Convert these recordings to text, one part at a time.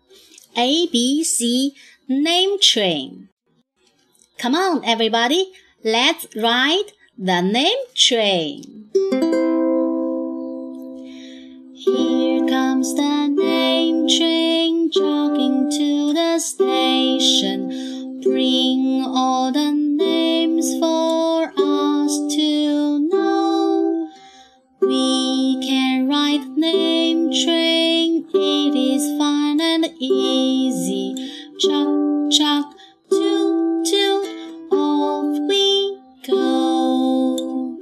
A, B, C, name train. Come on, everybody, let's ride the name train. Here comes the name train, jogging to the station. Bring all the names for us to know. We can ride name train, it is fun and easy. Chuck, chuck, toot, toot, off we go.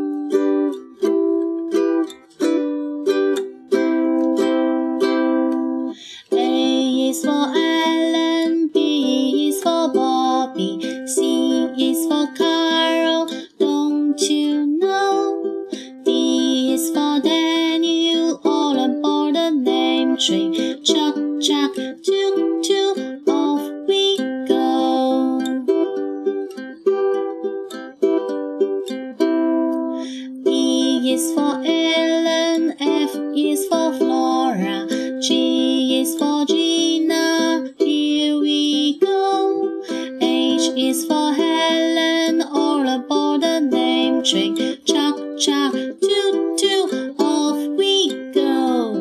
A is for Alan, B is for Bobby, C is for Carol, don't you know? D is for Daniel, all aboard the name train. Chuck, chuck, toot, toot, off we go. E is for Ellen, F is for Flora, G is for Gina, here we go. H is for Helen, all aboard the name train. Chuck, chuck, toot, toot, off we go.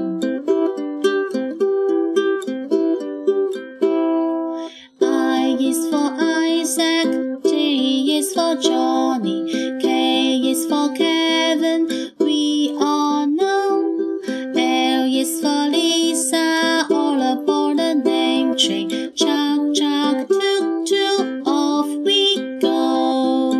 I is for Isaac, J is for Johnny, K is for Kevin, we all know. L is for Lisa, all aboard the name train. Chuck, chuck, toot, toot, off we go.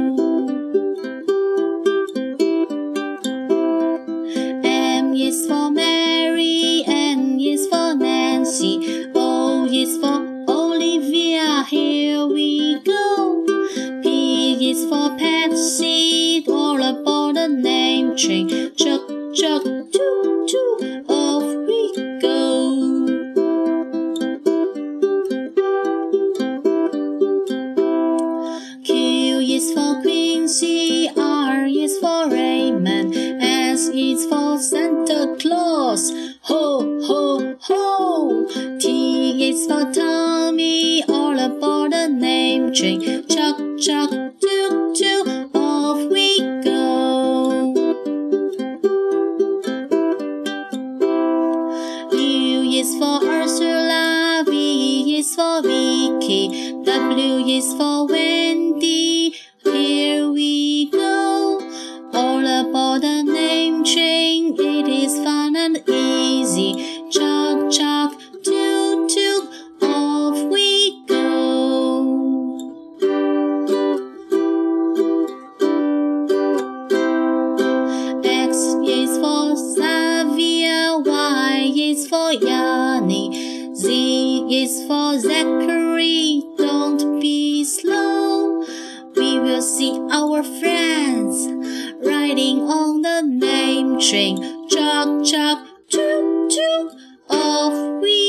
M is for Mary, N is for Nancy, O is for Olivia, here we go. P is for Patsy, all aboard the name train. Chuck, chuck, toot, toot, off we go. Q is for Quincy, R is for Raymond, S is for Santa Claus, ho, ho, ho. T is for Tommy, all aboard the name train. Chuck, chuck, toot, toot, off we go. U is for Ursula, V is for Vicky, W is for Wendy, here we go. All aboard the name train, it is fun and easy. Chuck, chuck, toot, toot, off we go. X is for Xavier, Y is for Yanni, Z is for Zachary, don't be slow. We will see our friends riding on the name train. Chuck, chuck, toot, toot, off we